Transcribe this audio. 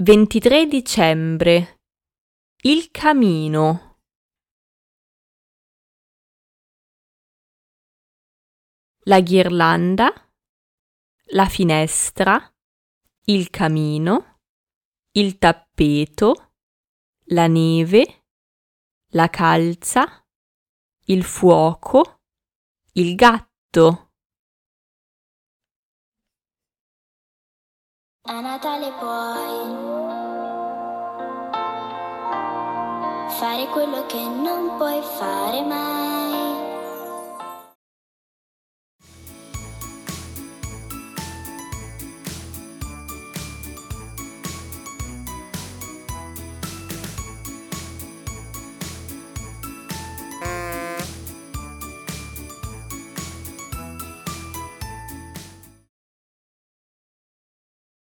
23 dicembre. Il camino. La ghirlanda, la finestra, il camino, il tappeto, la neve, la calza, il fuoco, il gatto. A Natale puoi fare quello che non puoi fare mai.